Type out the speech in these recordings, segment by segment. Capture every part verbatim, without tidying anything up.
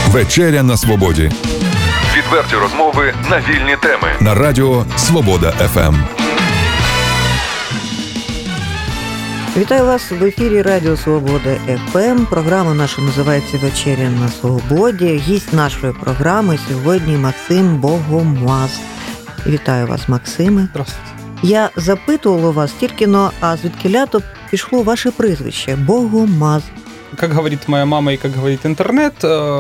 Вечеря на свободі. Відверті розмови на вільні теми. На радіо Свобода еф ем. Вітаю вас в ефірі Радіо Свобода еф ем. Програма наша називається «Вечеря на свободі». Гість нашої програми сьогодні Максим Богомаз. Вітаю вас, Максиме. Здравствуйте. Я запитувала вас тільки, но, а звідкіля-то пішло ваше прізвище – Богомаз. Как говорит моя мама и как говорит интернет,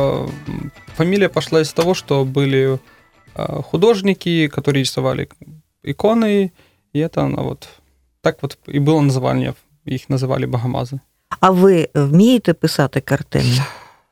фамилия пошла из того, что были художники, которые рисовали иконы, и это она вот так вот и было название, их называли Богомазы. А ви вмієте писати картини?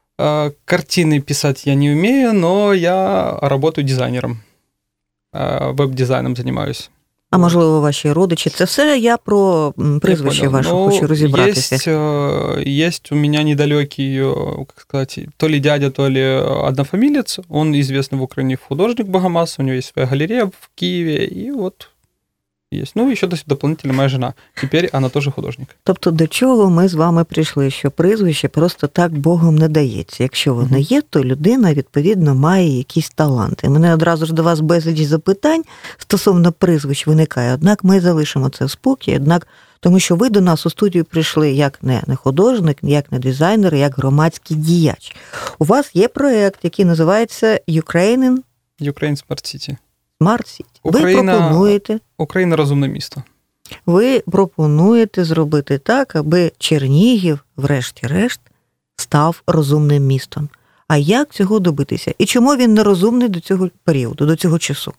Картины писать я не умею, но я работаю дизайнером, веб-дизайном занимаюсь. А можливо, ваші родичі? Це все я про прізвище ваше ну, хочу розібратися. Есть, есть у меня недалекий, как сказать, то ли дядя, то ли однофамилец. Он известный в Украине художник Богомаз, у него есть своя галерея в Киеве, и вот есть. Ну, еще дополнительно моя жена. Теперь она тоже художник. Тобто до чого ми з вами прийшли? Що прізвище просто так Богом не дається. Якщо воно є, то людина, відповідно, має якісь таланти. Мене одразу ж до вас безліч запитань стосовно прізвищ виникає. Однак ми залишимо це в спокій, однак, тому що ви до нас у студію прийшли як не, не художник, як не дизайнер, як громадський діяч. У вас є проєкт, який називається Ukraine... Ukraine Smart City. Smart City. Україна, ви пропонуєте... Україна – розумне місто. Ви пропонуєте зробити так, аби Чернігів, врешті-решт, став розумним містом. А як цього добитися? І чому він не розумний до цього періоду, до цього часу?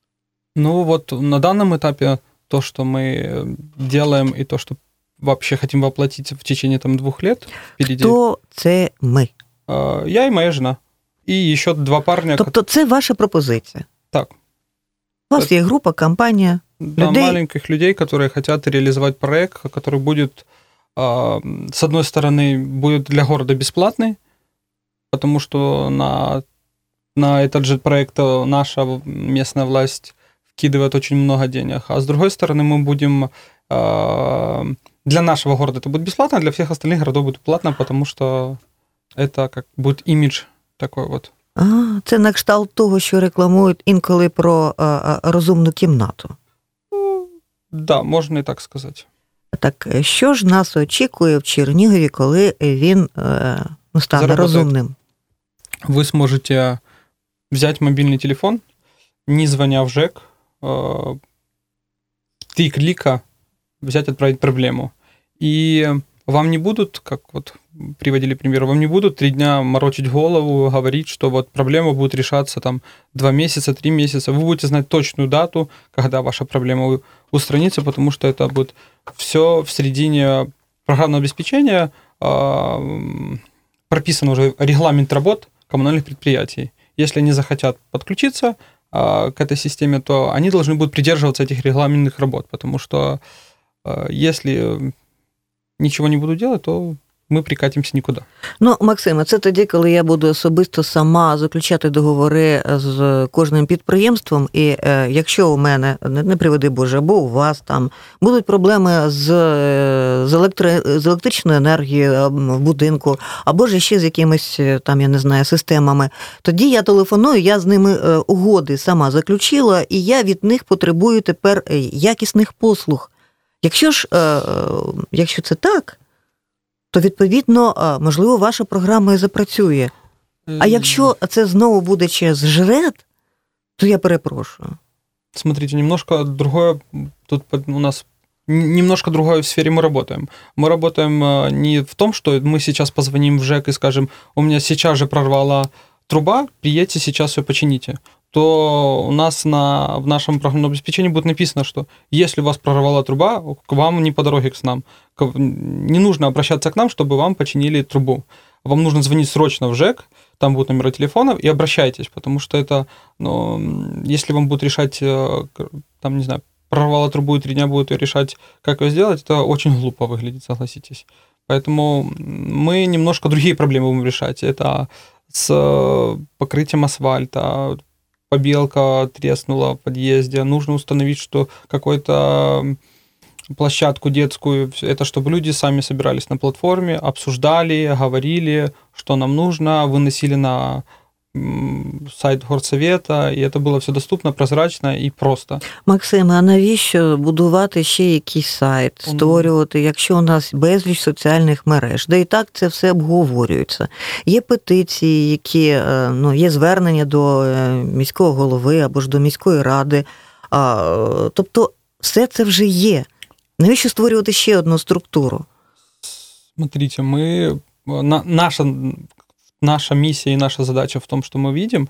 Ну, вот на данном этапе то, что мы делаем, и то, что вообще хотим воплотить в течение там двух лет впереди. Хто це ми? Я и моя жена. И еще два парня. Тобто це ваша пропозиція? Так. У вас є група, компанія да, людей? Маленьких людей, которые хотят реализовать проект, который будет, с одной стороны, будет для города бесплатный, потому что на, на этот же проект наша местная власть вкидывает очень много денег, а с другой стороны, мы будем... Для нашего города это будет бесплатно, а для всех остальных городов будет платно, потому что это как будет имидж такой вот. А, це на кшталт того, що рекламують інколи про а, а, розумну кімнату. Ну, да, можна і так сказати. Так, що ж нас очікує в Чернігові, коли він е, ну, стане Заработает. розумним? Ви зможете взяти мобільний телефон, не звоня в ЖЕК, э, три клика взять, отправить проблему. И вам не будут, как вот приводили пример, вам не будут три дня морочить голову, говорить, что вот проблема будет решаться там два месяца, три месяца. Вы будете знать точную дату, когда ваша проблема устранится, потому что это будет все в середине программного обеспечения, э, прописан уже регламент работ коммунальных предприятий. Если они захотят подключиться э, к этой системе, то они должны будут придерживаться этих регламентных работ, потому что э, если нічого не буду делать, то ми прикатимося нікуди. Ну, Максиме, це тоді, коли я буду особисто сама заключати договори з кожним підприємством, і е, якщо у мене, не, не приведи Боже, або у вас там будуть проблеми з, з, електри, з електричною енергією в будинку, або ж ще з якимись, там, я не знаю, системами, тоді я телефоную, я з ними е, угоди сама заключила, і я від них потребую тепер якісних послуг. Якщо ж, е, якщо це так, то, відповідно, можливо, ваша програма і запрацює. А якщо це знову буде через ЖРЕД, то я перепрошую. Смотрите, немножко другое, тут у нас немножко другое в сфере мы работаем. Мы работаем не в том, что мы сейчас позвоним в ЖЭК и скажем, у меня сейчас же прорвала труба, приедьте, сейчас все почините. То у нас на, в нашем программном обеспечении будет написано, что если у вас прорвала труба, к вам не по дороге к нам. Не нужно обращаться к нам, чтобы вам починили трубу. Вам нужно звонить срочно в ЖЭК, там будут номера телефонов, и обращайтесь, потому что это, ну, если вам будут решать, там, не знаю, прорвала трубу и три дня будут решать, как ее сделать, это очень глупо выглядит, согласитесь. Поэтому мы немножко другие проблемы будем решать. Это с покрытием асфальта, побелка треснула в подъезде, нужно установить, что какой-то площадку детскую. Это чтобы люди сами собирались на платформе, обсуждали, говорили, что нам нужно, выносили на сайт горсовета, і це було все доступно, прозрачно і просто. Максим, а навіщо будувати ще якийсь сайт, створювати, якщо у нас безліч соціальних мереж, де і так це все обговорюється. Є петиції, які, ну, є звернення до міського голови або ж до міської ради. А, тобто все це вже є. Навіщо створювати ще одну структуру? Смотрите, мы, на, наша, наша миссия и наша задача в том, что мы видим,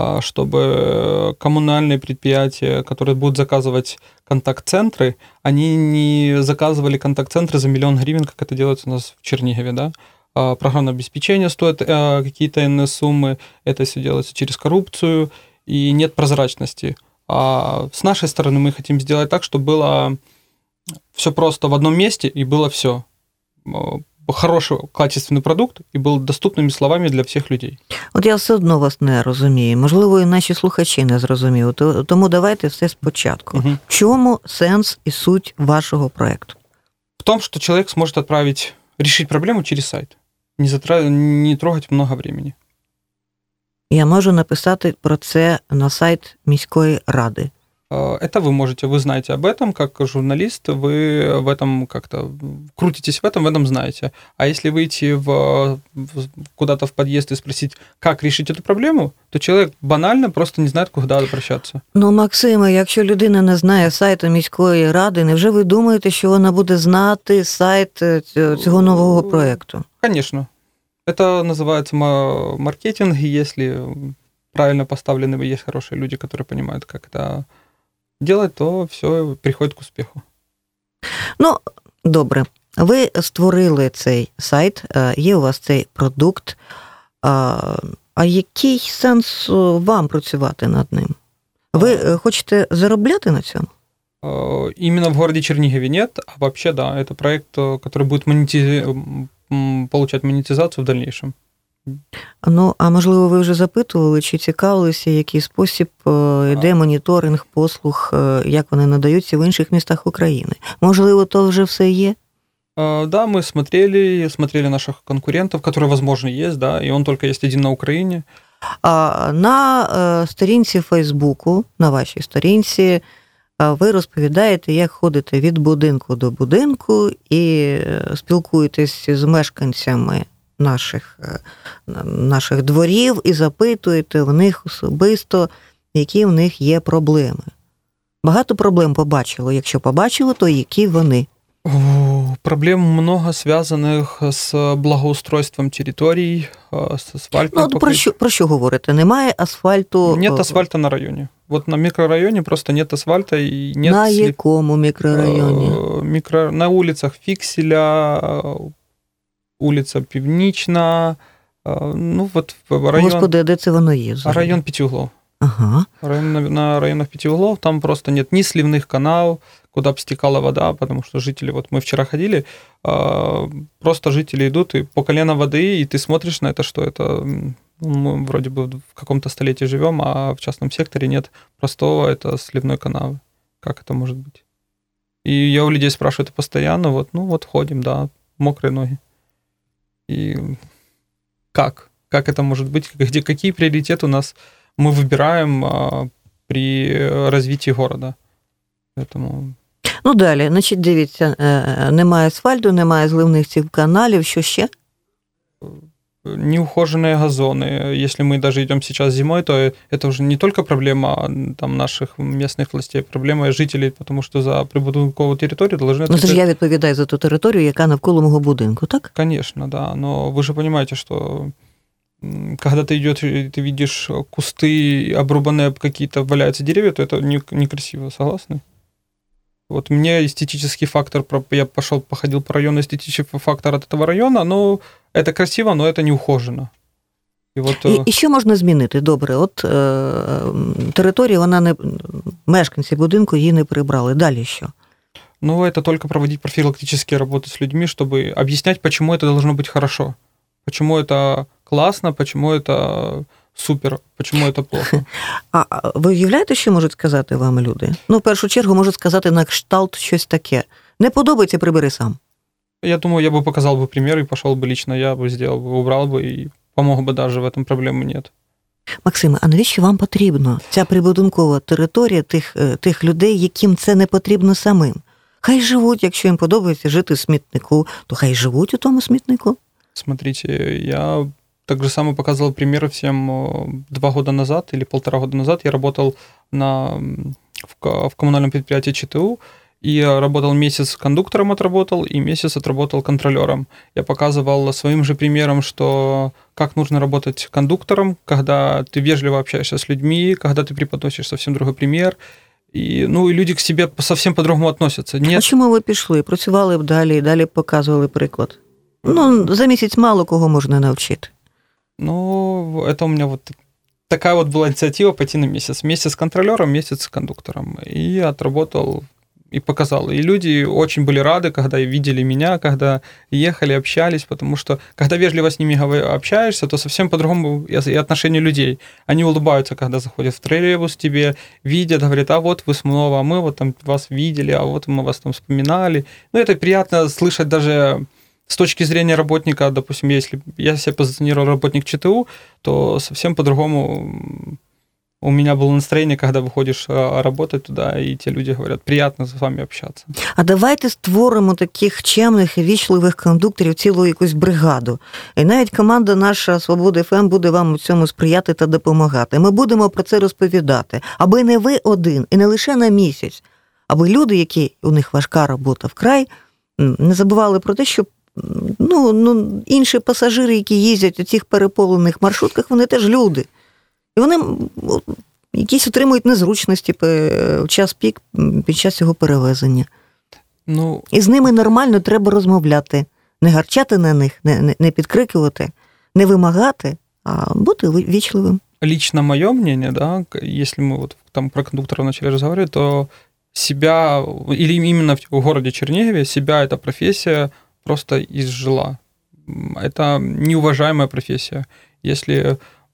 чтобы коммунальные предприятия, которые будут заказывать контакт-центры, они не заказывали контакт-центры за миллион гривен, как это делается у нас в Чернигове, да? Программное обеспечение стоит какие-то иные суммы, это все делается через коррупцию, и нет прозрачности. А с нашей стороны мы хотим сделать так, чтобы было все просто в одном месте, и было все. Хороший, качественний продукт і був доступними словами для всіх людей. От я все одно вас не розумію. Можливо, і наші слухачі не зрозуміли. Тому давайте все спочатку. Угу. В чому сенс і суть вашого проєкту? В том, что человек сможет отправить, решить проблему через сайт. Не, затра... не трогать много времени. Я можу написати про це на сайт міської ради. Это вы можете, вы знаете об этом, как журналист, вы в этом как-то крутитесь в этом, в этом знаете. А если выйти в, в, куда-то в подъезд и спросить, как решить эту проблему, то человек банально просто не знает, куда обращаться. Ну, Максиме, якщо людина не знає сайту міської ради, невже ви думаєте, що вона буде знати сайт цього нового проєкту? Конечно. Это называется маркетинг, и если правильно поставлены, есть хорошие люди, которые понимают, как это делать, то все приходить к успіху. Ну, добре. Ви створили цей сайт, є у вас цей продукт. А який сенс вам працювати над ним? Ви хочете заробляти на цьому? Именно в городе Чернигове нет, а вообще, да, это проект, который будет монетиз... получать монетизацию в дальнейшем. Ну, а можливо, ви вже запитували, чи цікавилися, який спосіб йде моніторинг послуг, як вони надаються в інших містах України? Можливо, то вже все є? Да, мы смотрели, смотрели наших конкурентов, которые, возможно, есть, да, и он только есть один на Украине. А на сторінці Фейсбуку, на вашій сторінці, ви розповідаєте, як ходите від будинку до будинку і спілкуєтесь з мешканцями наших, наших дворів і запитуєте в них особисто, які в них є проблеми. Багато проблем побачило. Якщо побачило, то які вони? Проблем много, зв'язаних з благоустройством територій, з асфальтом. Ну, про що, про що говорите? Немає асфальту? Нет асфальта на районі. Вот на микрорайоне просто нет асфальта. И нет на след... якому микрорайоні? Микро... На улицах Фікселя, улиця Північна, ну вот район... Господи, а де це воно є? Взагалі? Район Пятиуглов. Ага. Район, на, на районах Пятиуглов там просто нет ни сливных каналов, куда бы стекала вода, потому что жители, вот мы вчера ходили, просто жители идут и по колено воды, и ты смотришь на это, что это, мы вроде бы в каком-то столетии живем, а в частном секторе нет простого, это сливной канавы. Как это может быть? И я у людей спрашиваю это постоянно, вот, ну вот ходим, да, мокрые ноги. И как? Как это может быть? Где, какие приоритеты у нас мы выбираем а, при развитии города? Поэтому... Ну, далі, значить, дивіться, немає асфальту, немає зливних цих каналів, що ще? Неухоженные газоны. Если мы даже идем сейчас зимой, то это уже не только проблема там, наших местных властей, проблема жителей, потому что за прибудинкову територію должны... Ну, це ж я відповідаю за ту територію, яка навколо мого будинку, так? Конечно, да. Но вы же понимаете, что когда ты идешь, ты видишь кусты, обрубанные какие-то, валяются деревья, то это не, некрасиво, согласны? Вот мне эстетический фактор, я пошел, походил по району, эстетический фактор от этого района, ну, это красиво, но это не ухожено. І, от, і, і що можна змінити? Добре, от е, територія, вона не, мешканці будинку її не прибрали. Далі що? Ну, это только проводить профилактические работы с людьми, чтобы объяснять, почему это должно быть хорошо. Почему это классно, почему это супер, почему это плохо. А ви уявляєте, що можуть сказати вам люди? Ну, в першу чергу, можуть сказати на кшталт щось таке. Не подобається, прибери сам. Я думаю, я бы показал бы пример и пошел бы лично, я бы сделал бы, убрал бы и помог бы даже, в этом проблемы нет. Максиме, а навіщо вам потрібно ця прибудинкова територія тих, тих людей, яким це не потрібно самим? Хай живуть, якщо їм подобається жити в смітнику, то хай живуть у тому смітнику. Смотрите, я так же само показывал пример всем два года назад или полтора года назад. Я работал на, в, в коммунальном предприятии ЧТУ, и я работал месяц кондуктором отработал, и месяц отработал контролером. Я показывал своим же примером, что как нужно работать кондуктором, когда ты вежливо общаешься с людьми, когда ты преподносишь совсем другой пример. І, ну, і люди к себе совсем по-другому относятся. Нет... А чому ви пішли? Працювали б далі, і далі показували приклад? Ну, за місяць мало кого можна навчити. Ну, это у меня вот такая вот была инициатива пойти на месяц. Месяц контролером, месяц кондуктором. И отработал, и показал. И люди очень были рады, когда видели меня, когда ехали, общались, потому что, когда вежливо с ними общаешься, то совсем по-другому и отношение людей. Они улыбаются, когда заходят в троллейбус, тебе видят, говорят, а вот вы снова, а мы вот там вас видели, а вот мы вас там вспоминали. Ну, это приятно слышать даже с точки зрения работника, допустим, если я себя позиционировал работник ЧТУ, то совсем по-другому у меня было настроение, когда выходишь работать туда, и те люди говорят, приятно з вами общаться. А давайте створимо таких чемних і вічливих кондукторів, цілу якусь бригаду. І навіть команда наша «Свобода еф ем» буде вам у цьому сприяти та допомагати. Ми будемо про це розповідати, аби не ви один, і не лише на місяць, аби люди, які у них важка робота вкрай, не забували про те, що ну, ну, інші пасажири, які їздять у цих переповнених маршрутках, вони теж люди. І вони якісь отримують незручності в час пік під час цього перевезення. Ну, і з ними нормально треба розмовляти. Не гарчати на них, не, не, не підкрикувати, не вимагати, а бути вічливим. Лично мое мнение, да, если мы вот там про кондукторов начали разговаривать, то себя, или именно в городе Чернигове, себя эта профессия просто изжила. Это неуважаемая профессия. Если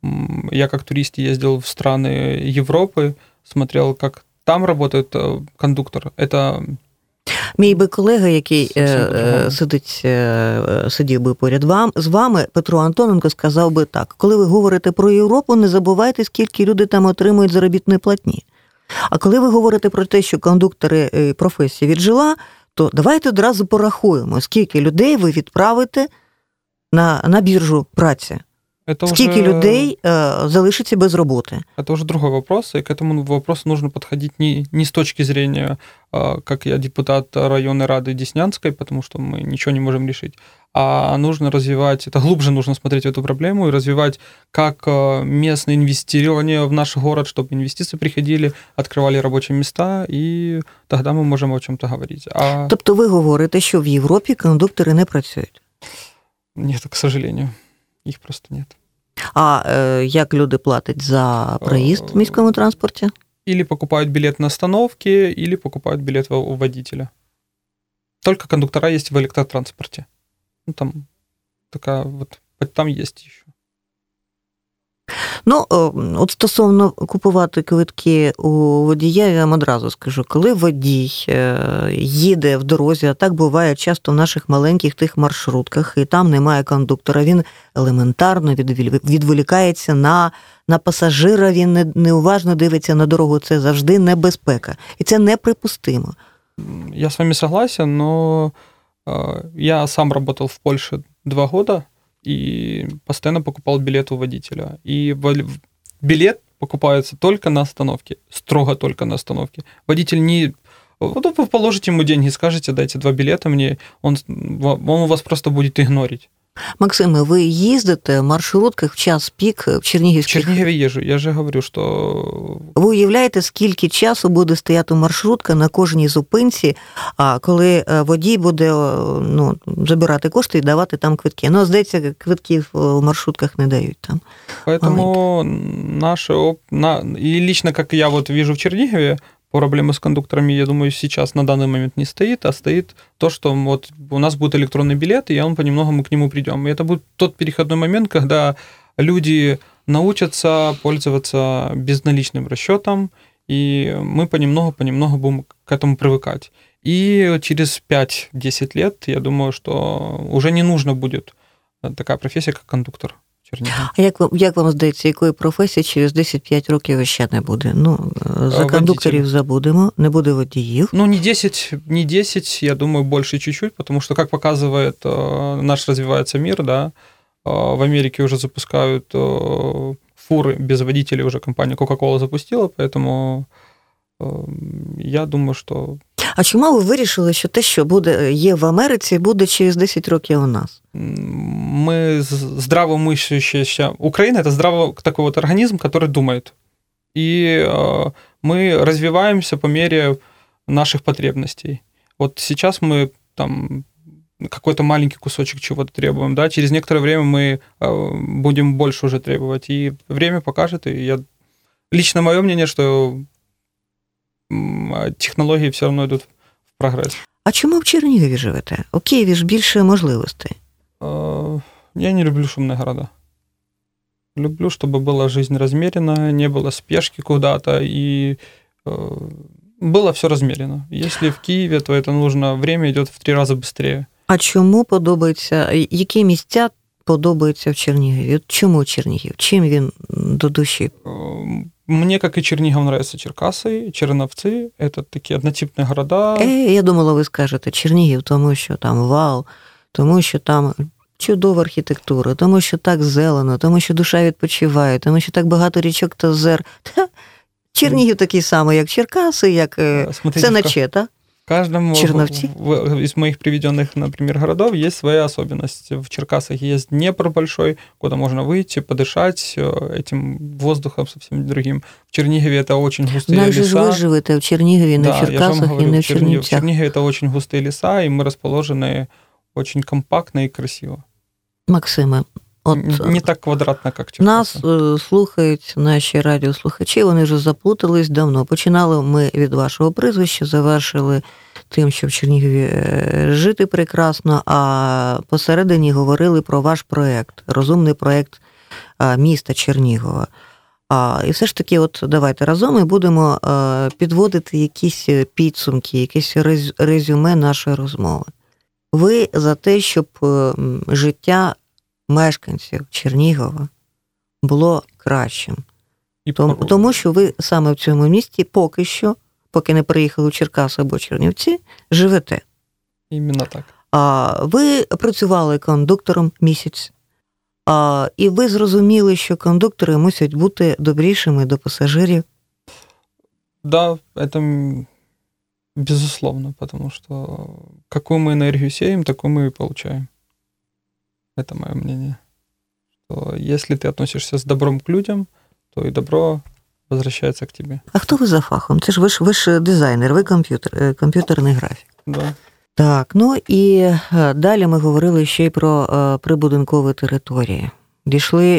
я как турист ездил в страны Европы, смотрел, как там работает кондуктор, это... Мій би колега, який е, сидить, е, сидів би поряд вам, з вами, Петро Антоненко, сказав би так: коли ви говорите про Європу, не забувайте, скільки люди там отримують заробітної платні. А коли ви говорите про те, що кондуктори професія віджила, то давайте одразу порахуємо, скільки людей ви відправите на, на біржу праці. Это Скільки уже... людей э, залишиться без работы? Это уже другой вопрос, и к этому вопросу нужно подходить не, не с точки зрения, э, как я депутат районной рады Деснянской, потому что мы ничего не можем решить, а нужно развивать, это глубже нужно смотреть в эту проблему и развивать как местное инвестирование в наш город, чтобы инвестиции приходили, открывали рабочие места, и тогда мы можем о чем-то говорить. А... Тобто ви говорите, що в Європі кондуктори не працюють? Нет, к сожалению. Их просто нет. А э, як люди платять за проезд в міському транспорте? Или покупают билет на остановке, или покупают билет у водителя. Только кондуктора есть в электротранспорте. Ну, там такая вот, там есть еще. Ну, от стосовно купувати квитки у водія, я вам одразу скажу, коли водій їде в дорозі, а так буває часто в наших маленьких тих маршрутках, і там немає кондуктора, він елементарно відволікається на, на пасажира, він неуважно дивиться на дорогу, це завжди небезпека. І це неприпустимо. Я с вами согласен, но я сам работал в Польше два года, и постоянно покупал билет у водителя. И билет покупается только на остановке, строго только на остановке. Водитель не... Вот вы положите ему деньги, скажете, дайте два билета мне, он, он вас просто будет игнорить. Максиме, ви їздите в маршрутках в час пік в Чернігівських? В Чернігові їжджу, я вже говорю, що... Ви уявляєте, скільки часу буде стояти маршрутка на кожній зупинці, а коли водій буде ну, забирати кошти і давати там квитки. Ну, здається, квитків в маршрутках не дають там. Поэтому наше... На... И лично, как я вот вижу в Чернигове, проблемы с кондукторами, я думаю, сейчас на данный момент не стоит, а стоит то, что вот у нас будет электронный билет, и он понемногу мы к нему придем. И это будет тот переходной момент, когда люди научатся пользоваться безналичным расчетом, и мы понемногу-понемногу будем к этому привыкать. И через пять-десять лет, я думаю, что уже не нужно будет такая профессия, как кондуктор Чернігова. А як вам, як вам здається, якої професії через десять-п'ять років ще не буде? Ну, за Водитель. кондукторів забудемо, не буде водіїв. Ну, не десять, не десять, я думаю, больше чуть-чуть, потому что, как показывает э, наш развивается мир, да, э, в Америке уже запускают э, фуры без водителей, уже компания Coca-Cola запустила, поэтому э, я думаю, что... А чому ви вирішили, що те, що буде, є в Америці, буде через десять років у нас? Мы здравомыслящая... Украина – это здраво такой вот организм, который думает. И э, мы развиваемся по мере наших потребностей. Вот сейчас мы там какой-то маленький кусочек чего-то требуем, да, через некоторое время мы э, будем больше уже требовать. И время покажет, и я... Лично мое мнение, что технології все одно йдуть в прогрес. А чому в Чернігові живете? У Києві ж більше можливостей. Я не люблю шумные города. Люблю, чтобы была жизнь размерена, не было спешки куда-то, и было все размерено. Если в Киеве, то это нужно, время идет в три раза быстрее. А чому подобається, які місця подобаються в Чернігові? Чому Чернігів? Чим він до душі? Мне, как и Чернигов, нравятся Черкасы, Черновцы. Это такие однотипные города. Е, я думала, ви скажете Чернігів, тому що там вау, тому що там чудова архітектура, тому що так зелено, тому що душа відпочиває, тому що так багато річок та озер. Та, Чернігів такий самий, як Черкаси, як Смотрите, Сенечета. В каждом Черновцы? из моих приведенных, например, городов есть своя особенность. В Черкасах есть Днепр большой, куда можно выйти, подышать этим воздухом совсем другим. В Чернигове это очень густые Навіть леса. ж ви живете в Чернігові, не да, в Черкасах говорю, і не в Чернигов, Чернівцях. В Чернигове это очень густые леса, и мы расположены очень компактно и красиво. Максиме, от не так квадратно, як Черкаси. Нас е, слухають наші радіослухачі, вони вже заплутались давно. Починали ми від вашого прізвища, завершили тим, що в Чернігові жити прекрасно, а посередині говорили про ваш проєкт, розумний проєкт міста Чернігова. А, і все ж таки, от давайте разом і будемо е, підводити якісь підсумки, якесь резюме нашої розмови. Ви за те, щоб життя мешканців Чернігова було кращим. І тому, тому що ви саме в цьому місті поки що, поки не приїхали в Черкаси або Чернівці, живете. Іменно так. А ви працювали кондуктором місяць, а, і ви зрозуміли, що кондуктори мусять бути добрішими до пасажирів? Да, это безусловно, потому что какую мы энергию сеем, такую мы и получаем. Это мое мнение. Что если ты относишься с добром к людям, то и добро возвращается к тебе. А хто ви за фахом? Це ж ви ж, ви ж дизайнер, ви комп'ютер, комп'ютерний графік. Да. Так, ну і далі ми говорили ще й про прибудинкові території. Дійшли,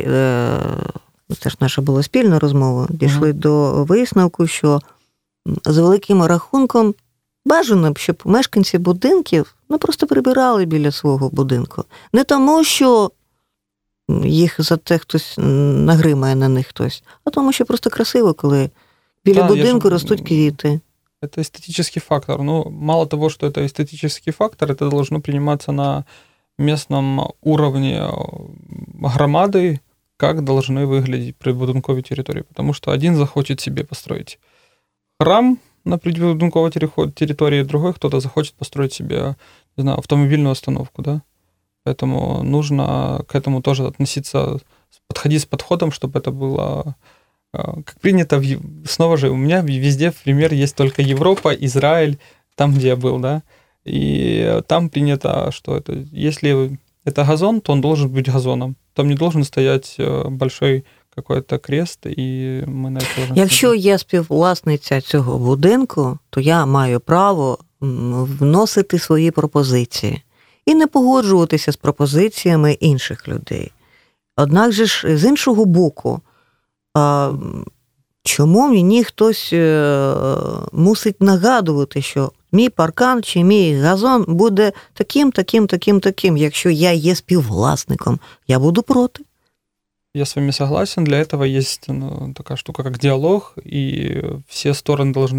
це ж наша була спільна розмова, дійшли mm-hmm. до висновку, що з великим рахунком бажано б, щоб мешканці будинків ну, просто прибирали біля свого будинку. Не тому, що їх за те хтось нагримає на них хтось, а тому, що просто красиво, коли біля да, будинку ж... ростуть квіти. Это эстетический фактор. Ну, мало того, что это эстетический фактор, это должно приниматься на местном уровне громады, как должны выглядеть прибудинковые территории. Потому что один захочет себе построить храм на прибудинковой территории, другой кто-то захочет построить себе, не знаю, автомобильную остановку, да. Поэтому нужно к этому тоже относиться, подходить с подходом, чтобы это было... Как принято, снова же, у меня везде, пример, есть только Европа, Израиль, там, где я был, да, и там принято, что это, если это газон, то он должен быть газоном, там не должен стоять большой какой-то крест, і ми на це... Якщо я співвласниця цього будинку, то я маю право вносити свої пропозиції і не погоджуватися з пропозиціями інших людей. Однак же ж, з іншого боку, а чому мені хтось мусить нагадувати, що мій паркан чи мій газон буде таким, таким, таким, таким, якщо я є співвласником, я буду проти. Я с вами согласен, для этого есть ну, такая штука, как диалог, и все стороны должны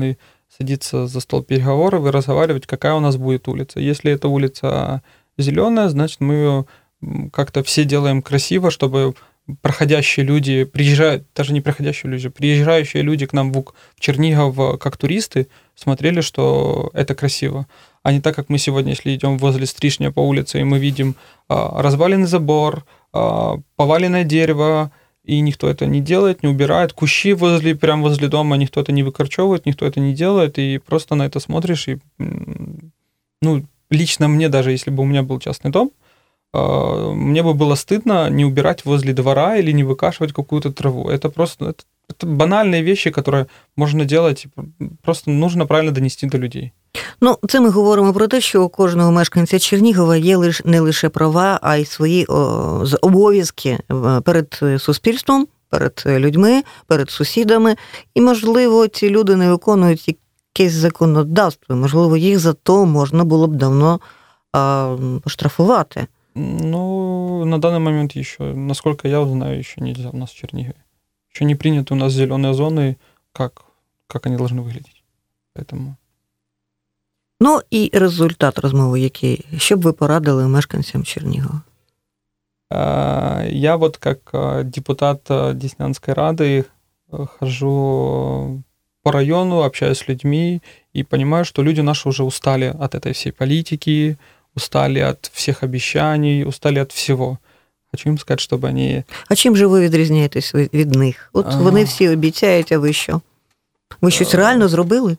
садиться за стол переговоров и разговаривать, какая у нас будет улица. Если эта улица зеленая, значит, мы ее как-то все делаем красиво, чтобы проходящие люди, приезжают, даже не проходящие люди, приезжающие люди к нам в Чернигов как туристы, смотрели, что это красиво. А не так, как мы сегодня, если идем возле Стрижня по улице, и мы видим а, разваленный забор, а, поваленное дерево, и никто это не делает, не убирает. Кущи возле, прямо возле дома, никто это не выкорчевывает, никто это не делает, и просто на это смотришь, и, ну, лично мне, даже если бы у меня был частный дом, мне бы было стыдно не убирать возле двора или не выкашивать какую-то траву. Это просто это, это банальные вещи, которые можна делать, просто нужно правильно донести до людей. Ну, це ми говоримо про те, що у кожного мешканця Чернігова є лиш, не лише права, а й свої о, обов'язки перед суспільством, перед людьми, перед сусідами. І, можливо, ці люди не виконують якесь законодавство. Можливо, їх за то можна було б давно а, поштрафувати. Ну, на данный момент еще, насколько я знаю, еще нельзя у нас в Чернигове. Еще не приняты у нас зеленые зоны, как, как они должны выглядеть. Поэтому... Ну, і результат розмови який? Що б ви порадили мешканцям Чернігова? Я вот как депутат Деснянской Рады хожу по району, общаюсь с людьми и понимаю, что люди наши уже устали от этой всей политики, устали от всех обещаний, устали от всего. Хочу им сказать, чтобы они... А чим же ви відрізняєтесь від них? От а... вони всі обіцяють, а ви що? Ви щось а... реально зробили?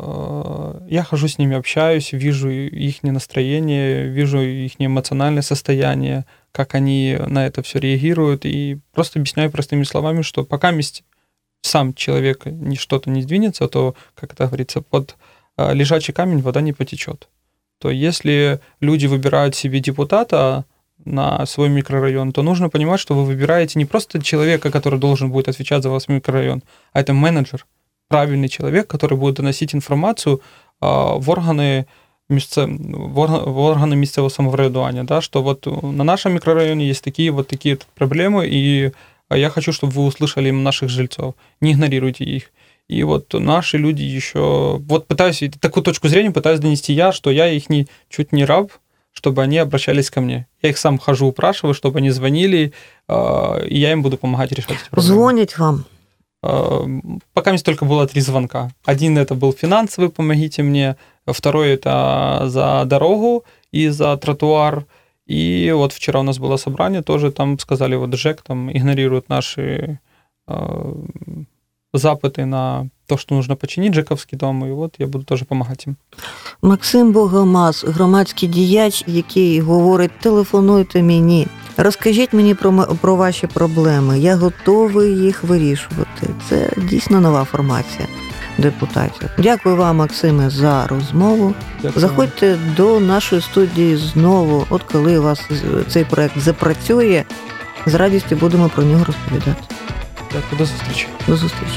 Я хожу с ними, общаюсь, вижу их настроение, вижу их эмоциональное состояние, как они на это все реагируют, и просто объясняю простыми словами, что пока сам человек что-то не сдвинется, то, как это говорится, под лежачий камень вода не потечет. То если люди выбирают себе депутата на свой микрорайон, то нужно понимать, что вы выбираете не просто человека, который должен будет отвечать за ваш микрорайон, а это менеджер, правильный человек, который будет доносить информацию в органы, місце, в органы місцевого самоврядування, да, что вот на нашем микрорайоне есть такие вот такие проблемы, и я хочу, чтобы вы услышали наших жильцов, не игнорируйте их. И вот наши люди еще... Вот пытаюсь, такую точку зрения пытаюсь донести я, что я их не, чуть не раб, чтобы они обращались ко мне. Я их сам хожу, упрашиваю, чтобы они звонили, и я им буду помогать решать эти проблемы. Звонить вам? Пока мне только было три звонка. Один это был финансовый, помогите мне, второй это за дорогу и за тротуар. И вот вчера у нас было собрание, тоже там сказали, вот ЖЭК там игнорирует наши э, запыты на то, что нужно починить ЖЕКовський дом, і от я буду теж допомагати їм. Максим Богомаз, громадський діяч, який говорить, телефонуйте мені, розкажіть мені про, про ваші проблеми, я готовий їх вирішувати. Це дійсно нова формація депутатів. Дякую вам, Максиме, за розмову. Дякую. Заходьте до нашої студії знову, от коли у вас цей проект запрацює, з радістю будемо про нього розповідати. Дякую, до зустрічі. До зустрічі.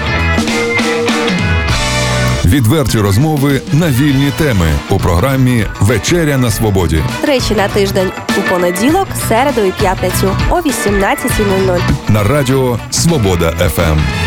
Відверті розмови на вільні теми у програмі «Вечеря на свободі». Тричі на тиждень у понеділок, середу і п'ятницю о вісімнадцятій нуль нуль. На радіо «Свобода еф ем».